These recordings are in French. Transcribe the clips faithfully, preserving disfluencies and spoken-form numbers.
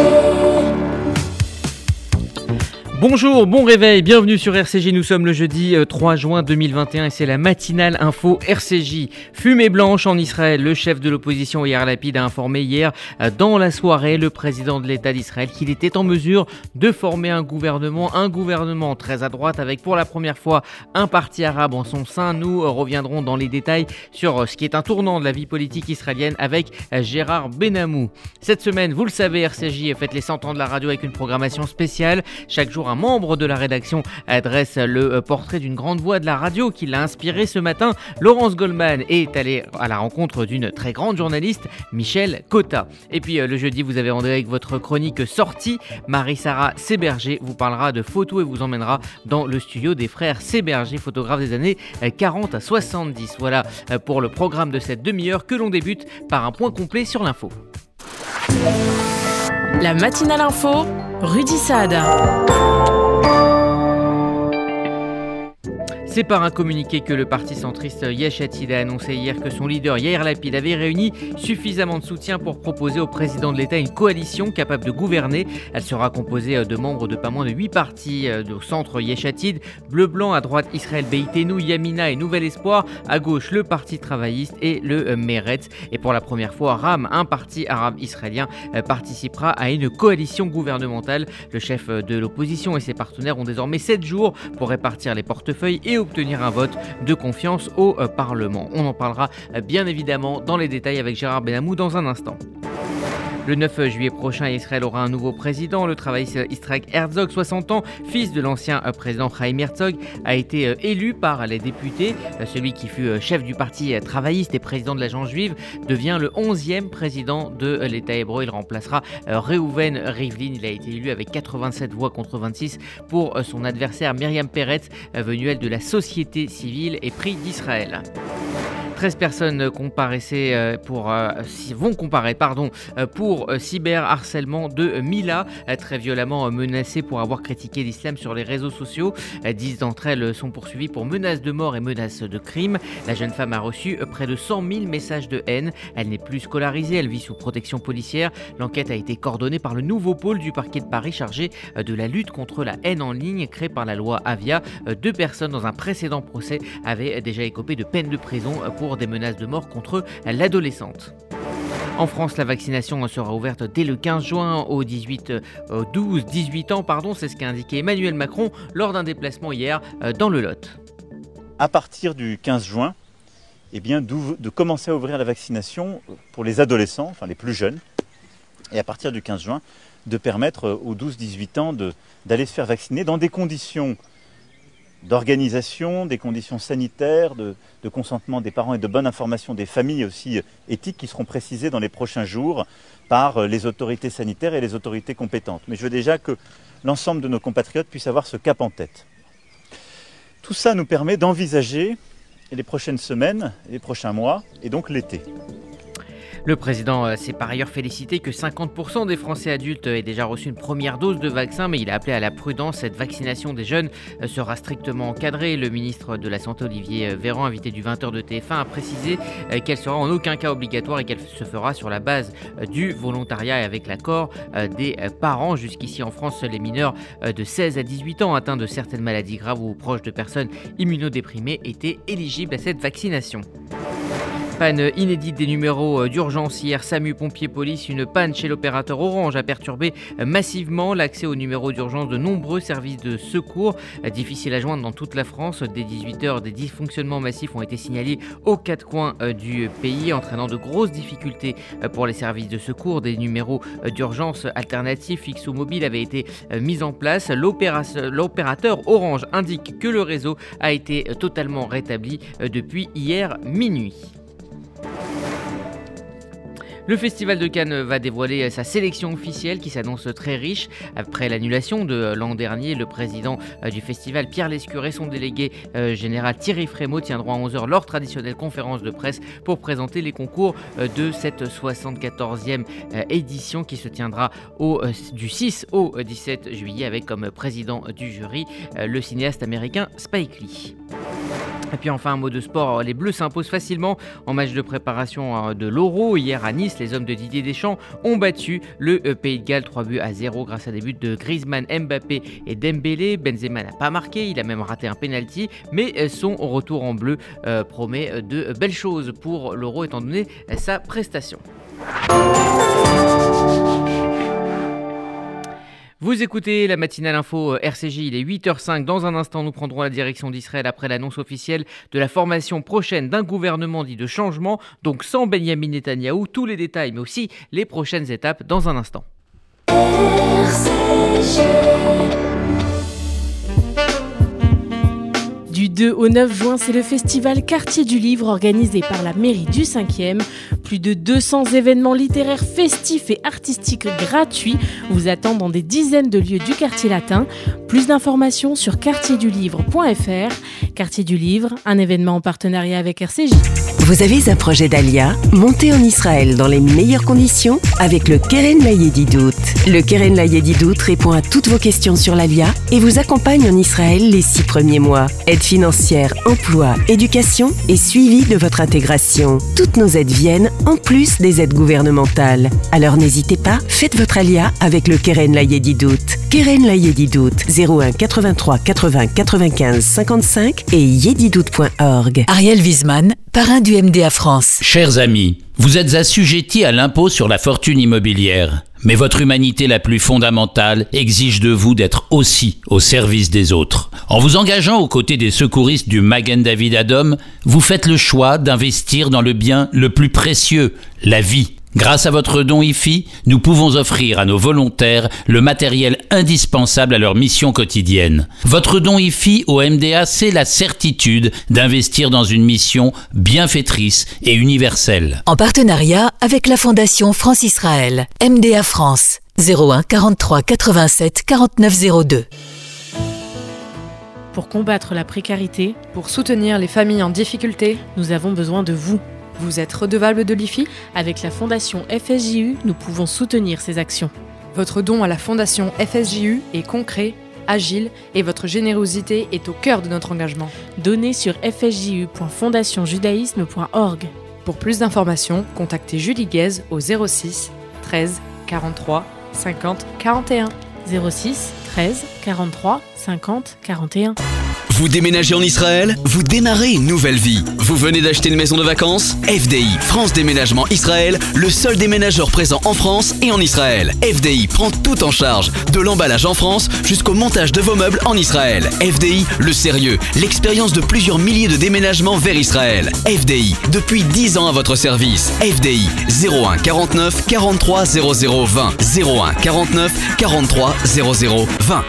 Bonjour, bon réveil, bienvenue sur R C J, nous sommes le jeudi trois juin deux mille vingt et un et c'est la matinale info R C J. Fumée blanche en Israël, le chef de l'opposition Yair Lapid a informé hier dans la soirée le président de l'État d'Israël qu'il était en mesure de former un gouvernement, un gouvernement très à droite avec pour la première fois un parti arabe en son sein. Nous reviendrons dans les détails sur ce qui est un tournant de la vie politique israélienne avec Gérard Benamou. Cette semaine, vous le savez, R C J fête les cent ans de la radio avec une programmation spéciale. Chaque jour, un membre de la rédaction adresse le portrait d'une grande voix de la radio qui l'a inspiré ce matin. Laurence Goldman est allée à la rencontre d'une très grande journaliste, Michel Cotta. Et puis le jeudi, vous avez rendez-vous avec votre chronique sortie. Marie-Sara Séberger vous parlera de photos et vous emmènera dans le studio des frères Séberger, photographes des années quarante à soixante-dix. Voilà pour le programme de cette demi-heure que l'on débute par un point complet sur l'info. La matinale info, Rudy Saad. C'est par un communiqué que le parti centriste Yesh Atid a annoncé hier que son leader Yair Lapid avait réuni suffisamment de soutien pour proposer au président de l'État une coalition capable de gouverner. Elle sera composée de membres de pas moins de huit partis au centre Yesh Atid, Bleu Blanc, à droite Israël Beiteinu, Yamina et Nouvel Espoir, à gauche le Parti travailliste et le Meretz. Et pour la première fois, Ram, un parti arabe israélien, participera à une coalition gouvernementale. Le chef de l'opposition et ses partenaires ont désormais sept jours pour répartir les portefeuilles et obtenir un vote de confiance au Parlement. On en parlera bien évidemment dans les détails avec Gérard Benamou dans un instant. Le neuf juillet prochain, Israël aura un nouveau président. Le travailliste Yitzhak Herzog, soixante ans, fils de l'ancien président Chaim Herzog, a été élu par les députés. Celui qui fut chef du parti travailliste et président de l'Agence juive devient le onzième président de l'État hébreu. Il remplacera Reuven Rivlin. Il a été élu avec quatre-vingt-sept voix contre vingt-six pour son adversaire Myriam Peretz, venue elle de la société civile et Prix d'Israël. treize personnes comparaissaient pour, euh, vont comparaître pardon, pour cyberharcèlement de Mila, très violemment menacée pour avoir critiqué l'islam sur les réseaux sociaux. dix d'entre elles sont poursuivies pour menaces de mort et menaces de crime. La jeune femme a reçu près de cent mille messages de haine. Elle n'est plus scolarisée, elle vit sous protection policière. L'enquête a été coordonnée par le nouveau pôle du parquet de Paris chargé de la lutte contre la haine en ligne créé par la loi Avia. Deux personnes dans un précédent procès avaient déjà écopé de peine de prison pour des menaces de mort contre l'adolescente. En France, la vaccination sera ouverte dès le quinze juin aux dix-huit, douze dix-huit ans, pardon, c'est ce qu'a indiqué Emmanuel Macron lors d'un déplacement hier dans le Lot. À partir du quinze juin, eh bien, de commencer à ouvrir la vaccination pour les adolescents, enfin les plus jeunes, et à partir du quinze juin, de permettre aux douze dix-huit ans de, d'aller se faire vacciner dans des conditions d'organisation, des conditions sanitaires, de, de consentement des parents et de bonne information des familles aussi éthiques qui seront précisées dans les prochains jours par les autorités sanitaires et les autorités compétentes. Mais je veux déjà que l'ensemble de nos compatriotes puissent avoir ce cap en tête. Tout ça nous permet d'envisager les prochaines semaines, les prochains mois et donc l'été. Le président s'est par ailleurs félicité que cinquante pour cent des Français adultes aient déjà reçu une première dose de vaccin, mais il a appelé à la prudence. Cette vaccination des jeunes sera strictement encadrée. Le ministre de la Santé, Olivier Véran, invité du vingt heures de T F un, a précisé qu'elle sera en aucun cas obligatoire et qu'elle se fera sur la base du volontariat et avec l'accord des parents. Jusqu'ici en France, les mineurs de seize à dix-huit ans atteints de certaines maladies graves ou proches de personnes immunodéprimées étaient éligibles à cette vaccination. Panne inédite des numéros d'urgence hier, SAMU, pompiers, police. Une panne chez l'opérateur Orange a perturbé massivement l'accès aux numéros d'urgence de nombreux services de secours. Difficile à joindre dans toute la France. Dès dix-huit heures, des dysfonctionnements massifs ont été signalés aux quatre coins du pays, entraînant de grosses difficultés pour les services de secours. Des numéros d'urgence alternatifs, fixes ou mobiles, avaient été mis en place. L'opérateur Orange indique que le réseau a été totalement rétabli depuis hier minuit. Le Festival de Cannes va dévoiler sa sélection officielle qui s'annonce très riche. Après l'annulation de l'an dernier, le président du festival, Pierre Lescure, et son délégué général Thierry Frémaux tiendront à onze heures leur traditionnelle conférence de presse pour présenter les concours de cette soixante-quatorzième édition qui se tiendra au, du six au dix-sept juillet avec comme président du jury le cinéaste américain Spike Lee. Et puis enfin un mot de sport, les Bleus s'imposent facilement en match de préparation de l'Euro. Hier à Nice, les hommes de Didier Deschamps ont battu le Pays de Galles trois buts à zéro grâce à des buts de Griezmann, Mbappé et Dembélé. Benzema n'a pas marqué, il a même raté un penalty, mais son retour en bleu euh, promet de belles choses pour l'Euro étant donné sa prestation. Vous écoutez la matinale info R C J, il est huit heures cinq. Dans un instant, nous prendrons la direction d'Israël après l'annonce officielle de la formation prochaine d'un gouvernement dit de changement, donc sans Benyamin Netanyahou. Tous les détails, mais aussi les prochaines étapes dans un instant. R C J. Du deux au neuf juin, c'est le festival Quartier du Livre organisé par la mairie du cinquième. Plus de deux cents événements littéraires festifs et artistiques gratuits vous attendent dans des dizaines de lieux du quartier latin. Plus d'informations sur quartier du livre point f r. Quartier du Livre, un événement en partenariat avec R C J. Vous avez un projet d'Alia? Montez en Israël dans les meilleures conditions avec le Keren Layedidout. Le Keren Layedidout répond à toutes vos questions sur l'Alia et vous accompagne en Israël les six premiers mois. Aide financière, emploi, éducation et suivi de votre intégration. Toutes nos aides viennent en plus des aides gouvernementales. Alors n'hésitez pas, faites votre Alia avec le Keren Layedidout. Keren Layedidout, zéro un quatre-vingt-trois quatre-vingts quatre-vingt-quinze cinquante-cinq et yedidout point org. Ariel Wiesman, parrain du M D A France. Chers amis, vous êtes assujettis à l'impôt sur la fortune immobilière. Mais votre humanité la plus fondamentale exige de vous d'être aussi au service des autres. En vous engageant aux côtés des secouristes du Magen David Adom, vous faites le choix d'investir dans le bien le plus précieux, la vie. Grâce à votre don I F I, nous pouvons offrir à nos volontaires le matériel indispensable à leur mission quotidienne. Votre don I F I au M D A, c'est la certitude d'investir dans une mission bienfaitrice et universelle. En partenariat avec la Fondation France-Israël, M D A France, zéro un quarante-trois quatre-vingt-sept quarante-neuf zéro deux. Pour combattre la précarité, pour soutenir les familles en difficulté, nous avons besoin de vous. Vous êtes redevable de l'I F I ? Avec la Fondation F S J U, nous pouvons soutenir ces actions. Votre don à la Fondation F S J U est concret, agile et votre générosité est au cœur de notre engagement. Donnez sur f s j u point fondation judaïsme point org. Pour plus d'informations, contactez Julie Guez au zéro six treize quarante-trois cinquante quarante et un. zéro six treize quarante-trois cinquante quarante et un. Vous déménagez en Israël? Vous démarrez une nouvelle vie. Vous venez d'acheter une maison de vacances? F D I, France Déménagement Israël, le seul déménageur présent en France et en Israël. F D I prend tout en charge, de l'emballage en France jusqu'au montage de vos meubles en Israël. F D I, le sérieux, l'expérience de plusieurs milliers de déménagements vers Israël. F D I, depuis dix ans à votre service. F D I, zéro un quarante-neuf quarante-trois zéro zéro vingt. zéro un quarante-neuf quarante-trois zéro zéro vingt.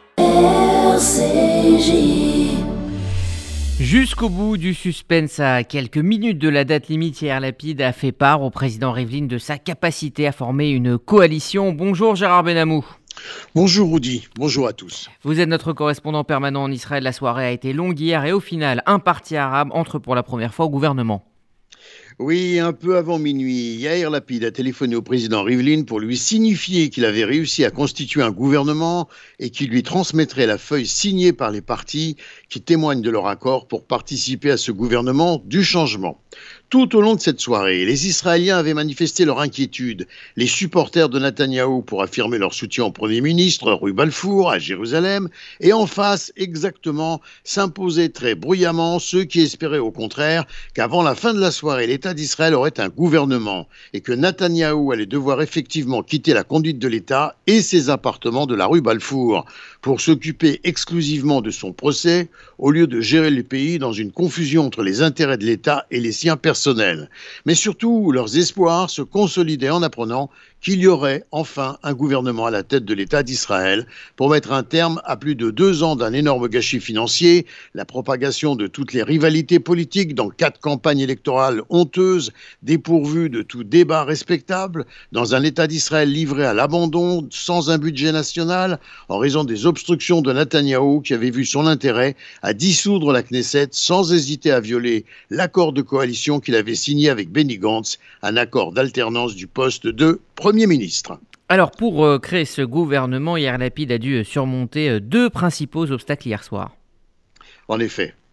R C J. Jusqu'au bout du suspense, à quelques minutes de la date limite, Yair Lapid a fait part au président Rivlin de sa capacité à former une coalition. Bonjour Gérard Benamou. Bonjour Rudy, bonjour à tous. Vous êtes notre correspondant permanent en Israël. La soirée a été longue hier et au final, un parti arabe entre pour la première fois au gouvernement. Oui, un peu avant minuit, Yair Lapid a téléphoné au président Rivlin pour lui signifier qu'il avait réussi à constituer un gouvernement et qu'il lui transmettrait la feuille signée par les partis qui témoignent de leur accord pour participer à ce gouvernement du changement. Tout au long de cette soirée, les Israéliens avaient manifesté leur inquiétude. Les supporters de Netanyahou pour affirmer leur soutien au Premier ministre, rue Balfour, à Jérusalem, et en face, exactement, s'imposaient très bruyamment ceux qui espéraient au contraire qu'avant la fin de la soirée, l'État d'Israël aurait un gouvernement et que Netanyahou allait devoir effectivement quitter la conduite de l'État et ses appartements de la rue Balfour pour s'occuper exclusivement de son procès au lieu de gérer le pays dans une confusion entre les intérêts de l'État et les siens personnels. Mais surtout, leurs espoirs se consolidaient en apprenant qu'il y aurait enfin un gouvernement à la tête de l'État d'Israël pour mettre un terme à plus de deux ans d'un énorme gâchis financier, la propagation de toutes les rivalités politiques dans quatre campagnes électorales honteuses, dépourvues de tout débat respectable, dans un État d'Israël livré à l'abandon, sans un budget national, en raison des obstructions de Netanyahou qui avait vu son intérêt à dissoudre la Knesset sans hésiter à violer l'accord de coalition qu'il avait signé avec Benny Gantz, un accord d'alternance du poste de Premier ministre. Alors pour euh, créer ce gouvernement, Yair Lapid a dû surmonter euh, deux principaux obstacles hier soir. En effet,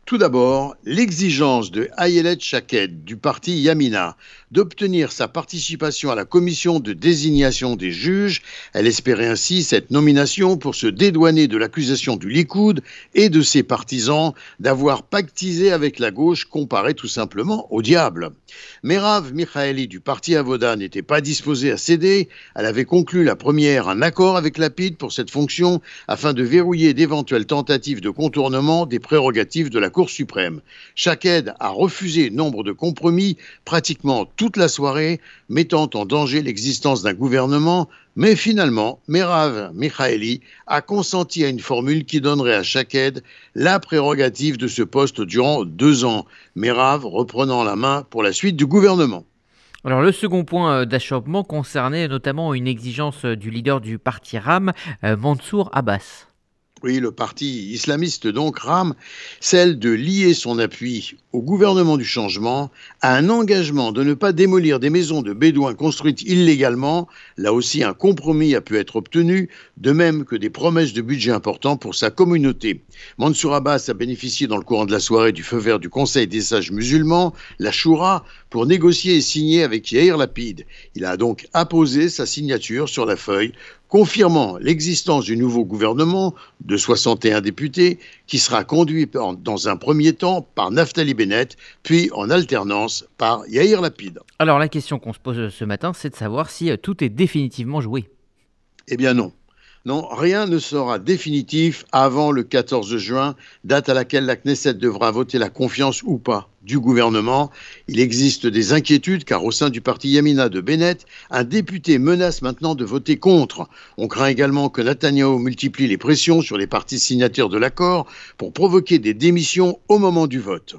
Tout d'abord, l'exigence de Ayelet Shaked du parti Yamina d'obtenir sa participation à la commission de désignation des juges. Elle espérait ainsi cette nomination pour se dédouaner de l'accusation du Likoud et de ses partisans d'avoir pactisé avec la gauche comparée tout simplement au diable. Merav Michaeli du parti Avoda n'était pas disposée à céder. Elle avait conclu la première un accord avec Lapid pour cette fonction afin de verrouiller d'éventuelles tentatives de contournement des prérogatives de la Cour suprême. Shaked a refusé nombre de compromis pratiquement toute la soirée, mettant en danger l'existence d'un gouvernement, mais finalement, Merav Michaeli a consenti à une formule qui donnerait à Shaked la prérogative de ce poste durant deux ans, Merav reprenant la main pour la suite du gouvernement. Alors le second point d'achoppement concernait notamment une exigence du leader du parti RAM, Mansour Abbas. Oui, le parti islamiste donc rame, celle de lier son appui au gouvernement du changement à un engagement de ne pas démolir des maisons de bédouins construites illégalement. Là aussi, un compromis a pu être obtenu, de même que des promesses de budget importants pour sa communauté. Mansour Abbas a bénéficié dans le courant de la soirée du feu vert du Conseil des sages musulmans, la Choura, pour négocier et signer avec Yair Lapid. Il a donc apposé sa signature sur la feuille, confirmant l'existence du nouveau gouvernement de soixante et un députés qui sera conduit dans un premier temps par Naftali Bennett, puis en alternance par Yair Lapid. Alors la question qu'on se pose ce matin, c'est de savoir si tout est définitivement joué. Eh bien non. Non, rien ne sera définitif avant le quatorze juin, date à laquelle la Knesset devra voter la confiance ou pas du gouvernement. Il existe des inquiétudes car au sein du parti Yamina de Bennett, un député menace maintenant de voter contre. On craint également que Netanyahou multiplie les pressions sur les partis signataires de l'accord pour provoquer des démissions au moment du vote.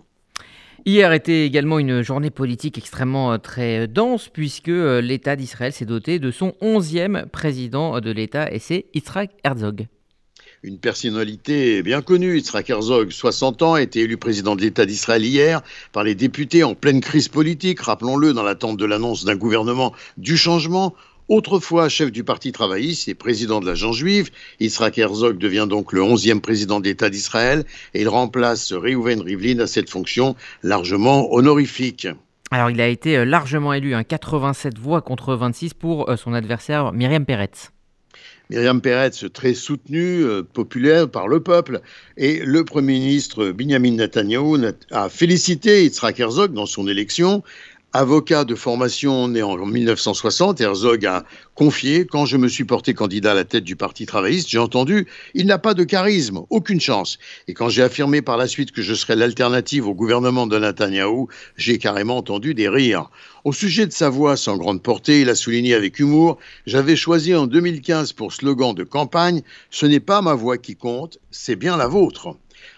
Hier était également une journée politique extrêmement très dense puisque l'État d'Israël s'est doté de son onzième président de l'État et c'est Yitzhak Herzog. Une personnalité bien connue, Yitzhak Herzog, soixante ans, a été élu président de l'État d'Israël hier par les députés en pleine crise politique, rappelons-le, dans l'attente de l'annonce d'un gouvernement du changement. Autrefois chef du parti travailliste et président de la Gent juive, Yitzhak Herzog devient donc le onzième président de l'État d'Israël et il remplace Reuven Rivlin à cette fonction largement honorifique. Alors il a été largement élu, hein, quatre-vingt-sept voix contre vingt-six pour son adversaire Myriam Peretz. Myriam Peretz, très soutenue, euh, populaire par le peuple. Et le Premier ministre Binyamin Netanyahou a félicité Yitzhak Herzog dans son élection. Avocat de formation né en mille neuf cent soixante, Herzog a confié « Quand je me suis porté candidat à la tête du Parti travailliste, j'ai entendu « Il n'a pas de charisme, aucune chance. » Et quand j'ai affirmé par la suite que je serais l'alternative au gouvernement de Netanyahou, j'ai carrément entendu des rires. Au sujet de sa voix sans grande portée, il a souligné avec humour « J'avais choisi en deux mille quinze pour slogan de campagne « Ce n'est pas ma voix qui compte, c'est bien la vôtre. »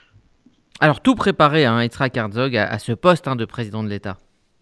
Alors tout préparé, hein, Yitzhak Herzog à, à ce poste hein, de président de l'État.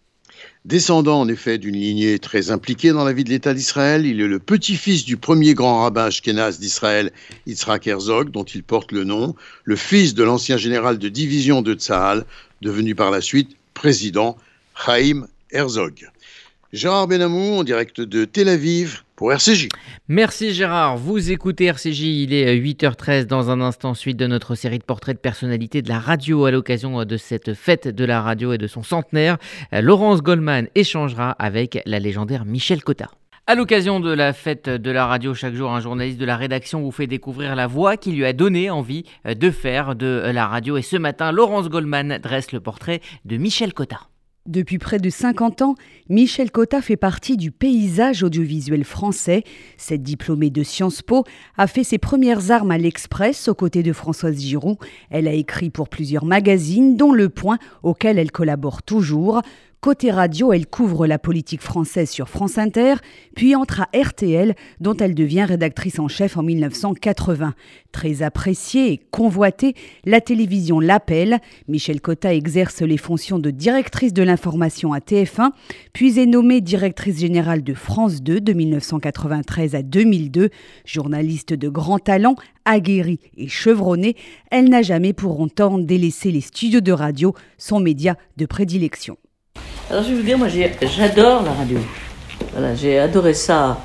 Descendant en effet d'une lignée très impliquée dans la vie de l'État d'Israël, il est le petit-fils du premier grand rabbin ashkénaze d'Israël, Yitzhak Herzog, dont il porte le nom, le fils de l'ancien général de division de Tsahal, devenu par la suite président, Chaim Herzog. Gérard Benamou, en direct de Tel Aviv, pour R C J. Merci Gérard, vous écoutez R C J, il est huit heures treize dans un instant, suite de notre série de portraits de personnalités de la radio à l'occasion de cette fête de la radio et de son centenaire. Laurence Goldman échangera avec la légendaire Michel Cotta. À l'occasion de la fête de la radio, chaque jour, un journaliste de la rédaction vous fait découvrir la voix qui lui a donné envie de faire de la radio. Et ce matin, Laurence Goldman dresse le portrait de Michel Cotta. Depuis près de cinquante ans, Michel Cotta fait partie du paysage audiovisuel français. Cette diplômée de Sciences Po a fait ses premières armes à l'Express aux côtés de Françoise Giroud. Elle a écrit pour plusieurs magazines, dont Le Point, auquel elle collabore toujours. Côté radio, elle couvre la politique française sur France Inter, puis entre à R T L, dont elle devient rédactrice en chef en mille neuf cent quatre-vingts. Très appréciée et convoitée, la télévision l'appelle. Michel Cotta exerce les fonctions de directrice de l'information à T F un, puis est nommée directrice générale de France deux de mille neuf cent quatre-vingt-treize à deux mille deux. Journaliste de grand talent, aguerrie et chevronnée, elle n'a jamais pour autant délaissé les studios de radio, son média de prédilection. Alors je vais vous dire, moi j'ai, j'adore la radio. Voilà, j'ai adoré ça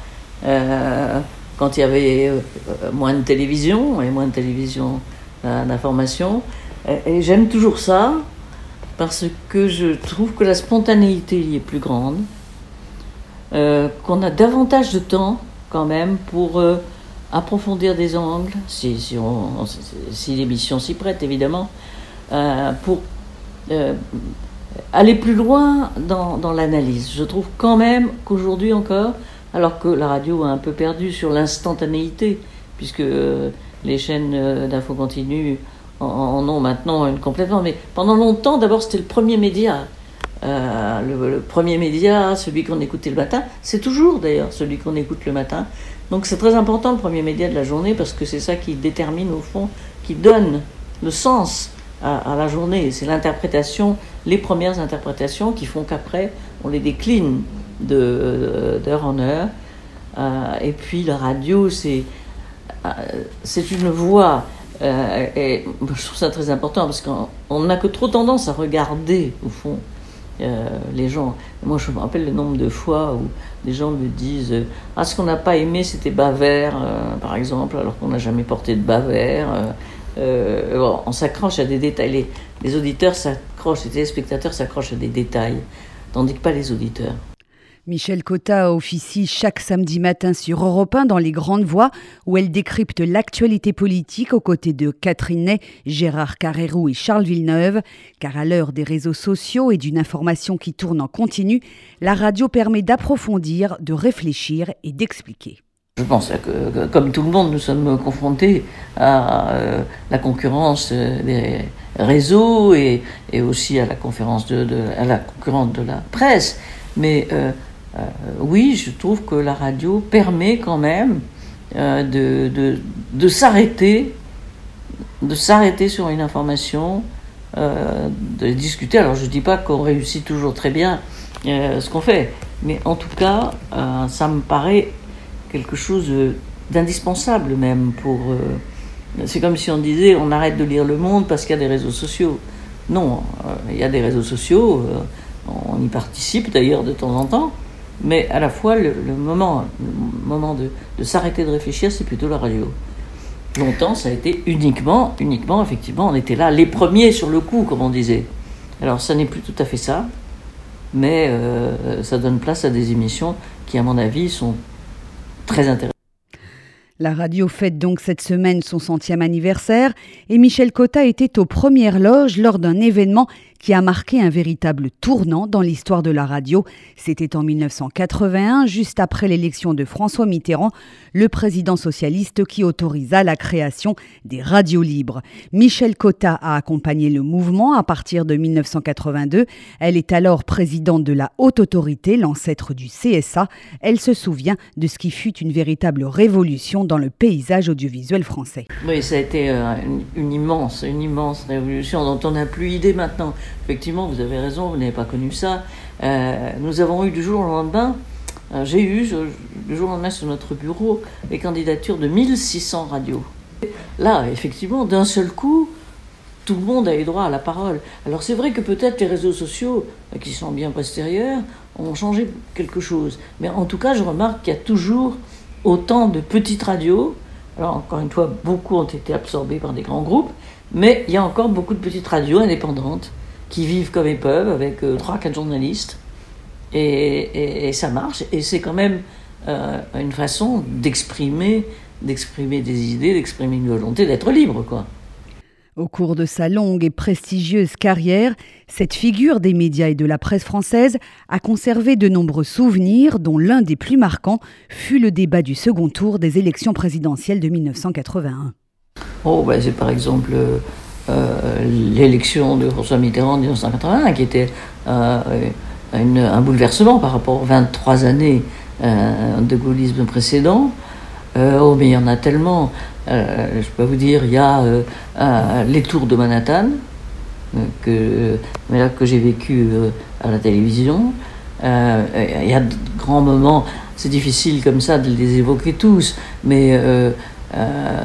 euh, quand il y avait euh, moins de télévision et moins de télévision euh, d'information. Et j'aime toujours ça, parce que je trouve que la spontanéité y est plus grande, euh, qu'on a davantage de temps quand même pour euh, approfondir des angles, si, si, on, si l'émission s'y prête évidemment, euh, pour euh, aller plus loin dans, dans l'analyse. Je trouve quand même qu'aujourd'hui encore, alors que la radio a un peu perdu sur l'instantanéité, puisque euh, les chaînes euh, d'info continue en, en ont maintenant une complètement, mais pendant longtemps, d'abord c'était le premier média. Euh, le, le premier média, celui qu'on écoutait le matin, c'est toujours d'ailleurs celui qu'on écoute le matin. Donc c'est très important le premier média de la journée, parce que c'est ça qui détermine au fond, qui donne le sens à, à la journée. C'est l'interprétation, les premières interprétations qui font qu'après on les décline de, d'heure en heure. Euh, et puis la radio, c'est, euh, c'est une voix, euh, et je trouve ça très important, parce qu'on n'a que trop tendance à regarder au fond Euh, les gens. Moi, je me rappelle le nombre de fois où des gens me disent euh, ah, ce qu'on n'a pas aimé, c'était bas vert, euh, par exemple, alors qu'on n'a jamais porté de bas vert. Euh, euh, bon, on s'accroche à des détails. Les, les auditeurs s'accrochent, les téléspectateurs s'accrochent à des détails, tandis que pas les auditeurs. Michel Cotta officie chaque samedi matin sur Europe un dans Les Grandes Voix, où elle décrypte l'actualité politique aux côtés de Catherine Ney, Gérard Carrérou et Charles Villeneuve. Car à l'heure des réseaux sociaux et d'une information qui tourne en continu, la radio permet d'approfondir, de réfléchir et d'expliquer. Je pense que, comme tout le monde, nous sommes confrontés à euh, la concurrence des réseaux et, et aussi à la, conférence de, de, à la concurrence de la presse. Mais euh, Euh, oui, je trouve que la radio permet quand même euh, de, de, de s'arrêter, de s'arrêter sur une information, euh, de discuter. Alors je ne dis pas qu'on réussit toujours très bien euh, ce qu'on fait, mais en tout cas, euh, ça me paraît quelque chose d'indispensable même pour... Euh, c'est comme si on disait on arrête de lire Le Monde parce qu'il y a des réseaux sociaux. Non, euh, il y a des réseaux sociaux, euh, on y participe d'ailleurs de temps en temps, mais à la fois, le, le moment, le moment de, de s'arrêter de réfléchir, c'est plutôt la radio. Longtemps, ça a été uniquement, uniquement, effectivement, on était là, les premiers sur le coup, comme on disait. Alors, ça n'est plus tout à fait ça, mais euh, ça donne place à des émissions qui, à mon avis, sont très intéressantes. La radio fête donc cette semaine son centième anniversaire et Michel Cotta était aux premières loges lors d'un événement qui a marqué un véritable tournant dans l'histoire de la radio. C'était en dix-neuf cent quatre-vingt-un, juste après l'élection de François Mitterrand, le président socialiste qui autorisa la création des radios libres. Michel Cotta a accompagné le mouvement à partir de dix-neuf cent quatre-vingt-deux. Elle est alors présidente de la Haute Autorité, l'ancêtre du C S A. Elle se souvient de ce qui fut une véritable révolution dans le paysage audiovisuel français. Oui, ça a été une, une immense, une immense révolution dont on n'a plus idée maintenant. Effectivement, vous avez raison, vous n'avez pas connu ça. Euh, nous avons eu du jour au lendemain, euh, j'ai eu je, du jour au lendemain sur notre bureau les candidatures de mille six cents radios. Là, effectivement, d'un seul coup, tout le monde a eu droit à la parole. Alors c'est vrai que peut-être les réseaux sociaux, qui sont bien postérieurs, ont changé quelque chose. Mais en tout cas, je remarque qu'il y a toujours autant de petites radios. Alors encore une fois, beaucoup ont été absorbés par des grands groupes, mais il y a encore beaucoup de petites radios indépendantes qui vivent comme ils peuvent, avec euh, trois, quatre journalistes, et, et, et ça marche, et c'est quand même euh, une façon d'exprimer, d'exprimer des idées, d'exprimer une volonté, d'être libre, quoi. Au cours de sa longue et prestigieuse carrière, cette figure des médias et de la presse française a conservé de nombreux souvenirs, dont l'un des plus marquants fut le débat du second tour des élections présidentielles de dix-neuf cent quatre-vingt-un. Oh, ben c'est par exemple... Euh, Euh, l'élection de François Mitterrand en dix-neuf cent quatre-vingt-un, qui était euh, une, un bouleversement par rapport aux vingt-trois années euh, de gaullisme précédent. Euh, oh, mais il y en a tellement. Euh, je peux vous dire, il y a euh, euh, les tours de Manhattan, euh, que, mais là, que j'ai vécu euh, à la télévision. Euh, il y a de grands moments, c'est difficile comme ça de les évoquer tous, mais... Euh, euh,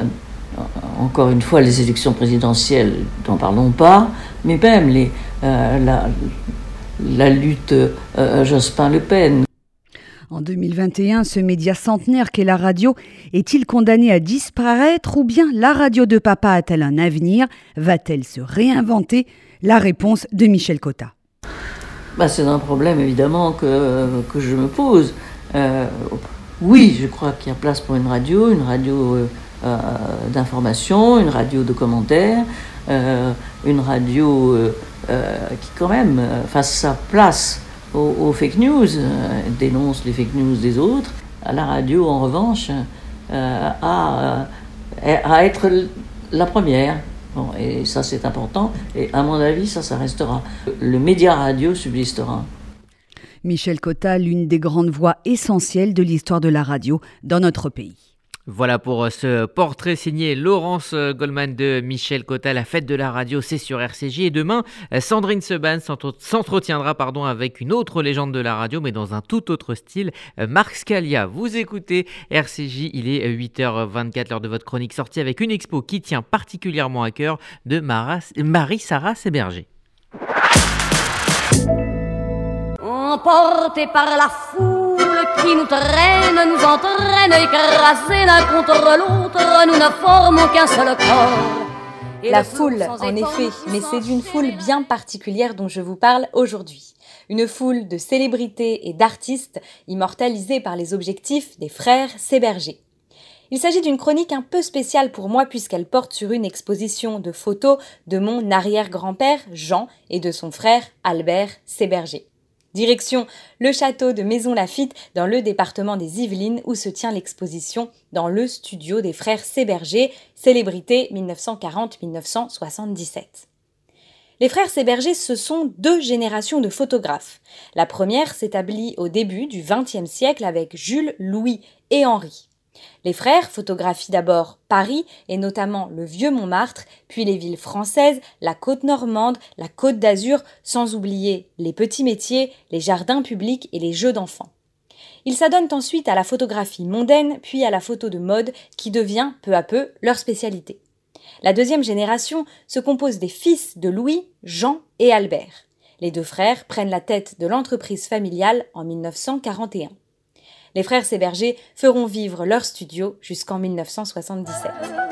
encore une fois, les élections présidentielles, n'en parlons pas, mais même les, euh, la, la lutte euh, Jospin-Le Pen. En deux mille vingt et un, ce média centenaire qu'est la radio est-il condamné à disparaître ou bien la radio de papa a-t-elle un avenir? Va-t-elle se réinventer? La réponse de Michel Cotta. Bah, c'est un problème évidemment que, que je me pose. Euh, oui, je crois qu'il y a place pour une radio, une radio euh, euh, d'information, une radio de commentaires, euh, une radio euh, euh, qui quand même euh, fasse sa place aux, aux fake news, euh, dénonce les fake news des autres. La radio, en revanche, euh, a, euh, à être la première. Bon, et ça, c'est important. Et à mon avis, ça, ça restera. Le média radio subsistera. Michel Cotta, l'une des grandes voix essentielles de l'histoire de la radio dans notre pays. Voilà pour ce portrait signé Laurence Goldman de Michel Cotta. La fête de la radio, c'est sur R C J. Et demain, Sandrine Seban s'entretiendra pardon, avec une autre légende de la radio, mais dans un tout autre style, Marc Scalia. Vous écoutez R C J, il est huit heures vingt-quatre, l'heure de votre chronique sortie avec une expo qui tient particulièrement à cœur de Marie-Sarah Séberger. Emportés par la foule qui nous traîne, nous entraîne, écrasés l'un contre l'autre, nous ne formons qu'un seul corps. Et la foule, en effet, mais c'est d'une foule bien particulière dont je vous parle aujourd'hui. Une foule de célébrités et d'artistes immortalisés par les objectifs des frères Séberger. Il s'agit d'une chronique un peu spéciale pour moi puisqu'elle porte sur une exposition de photos de mon arrière-grand-père Jean et de son frère Albert Séberger. Direction le château de Maisons-Laffitte dans le département des Yvelines où se tient l'exposition dans le studio des frères Séberger, célébrité dix-neuf cent quarante à dix-neuf cent soixante-dix-sept. Les frères Séberger, ce sont deux générations de photographes. La première s'établit au début du vingtième siècle avec Jules, Louis et Henri. Les frères photographient d'abord Paris et notamment le vieux Montmartre, puis les villes françaises, la côte normande, la côte d'Azur, sans oublier les petits métiers, les jardins publics et les jeux d'enfants. Ils s'adonnent ensuite à la photographie mondaine, puis à la photo de mode qui devient peu à peu leur spécialité. La deuxième génération se compose des fils de Louis, Jean et Albert. Les deux frères prennent la tête de l'entreprise familiale en dix-neuf cent quarante et un. Les frères Séberger feront vivre leur studio jusqu'en dix-neuf cent soixante-dix-sept.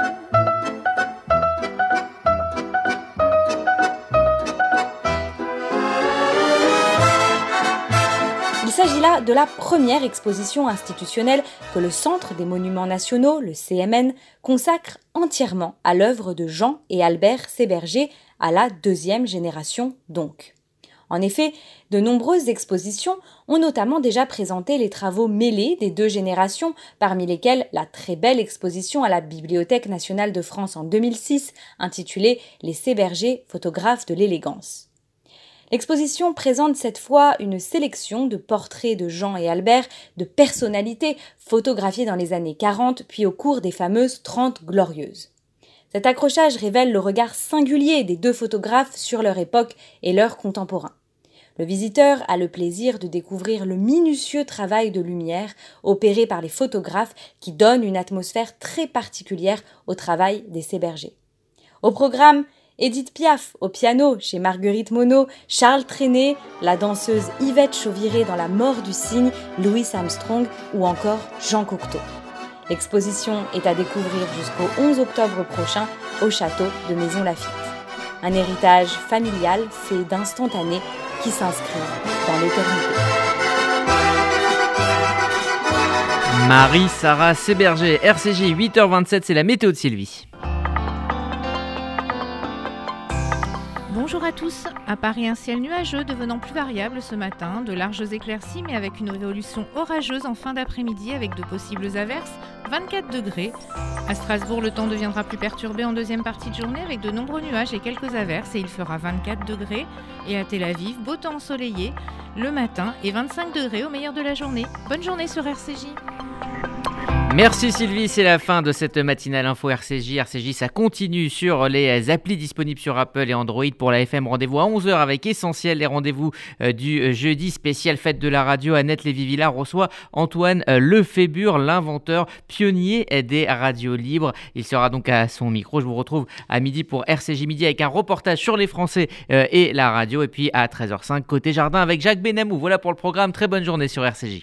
Il s'agit là de la première exposition institutionnelle que le Centre des Monuments Nationaux, le C M N, consacre entièrement à l'œuvre de Jean et Albert Séberger, à la deuxième génération donc. En effet, de nombreuses expositions ont notamment déjà présenté les travaux mêlés des deux générations, parmi lesquels la très belle exposition à la Bibliothèque nationale de France en deux mille six, intitulée « Les Séberger, photographes de l'élégance ». L'exposition présente cette fois une sélection de portraits de Jean et Albert, de personnalités photographiées dans les années quarante, puis au cours des fameuses Trente Glorieuses. Cet accrochage révèle le regard singulier des deux photographes sur leur époque et leurs contemporains. Le visiteur a le plaisir de découvrir le minutieux travail de lumière opéré par les photographes qui donne une atmosphère très particulière au travail des Séberger. Au programme, Édith Piaf au piano chez Marguerite Monod, Charles Trenet, la danseuse Yvette Chauviré dans La mort du cygne, Louis Armstrong ou encore Jean Cocteau. L'exposition est à découvrir jusqu'au onze octobre prochain au château de Maisons-Laffitte. Un héritage familial fait d'instantanés qui s'inscrit dans l'éternité. Marie-Sarah Séberger, R C J, huit heures vingt-sept, c'est la météo de Sylvie. Bonjour à tous. À Paris, un ciel nuageux devenant plus variable ce matin, de larges éclaircies mais avec une évolution orageuse en fin d'après-midi avec de possibles averses, vingt-quatre degrés. À Strasbourg, le temps deviendra plus perturbé en deuxième partie de journée avec de nombreux nuages et quelques averses et il fera vingt-quatre degrés. Et à Tel Aviv, beau temps ensoleillé le matin et vingt-cinq degrés au meilleur de la journée. Bonne journée sur R C J. Merci Sylvie, c'est la fin de cette matinale info R C J. R C J, ça continue sur les applis disponibles sur Apple et Android. Pour la F M, rendez-vous à onze heures avec Essentiel, les rendez-vous du jeudi spécial fête de la radio. Annette Lévy-Villard reçoit Antoine Lefébure, l'inventeur pionnier des radios libres. Il sera donc à son micro. Je vous retrouve à midi pour R C J Midi avec un reportage sur les Français et la radio. Et puis à treize heures cinq, côté jardin avec Jacques Benamou. Voilà pour le programme. Très bonne journée sur R C J.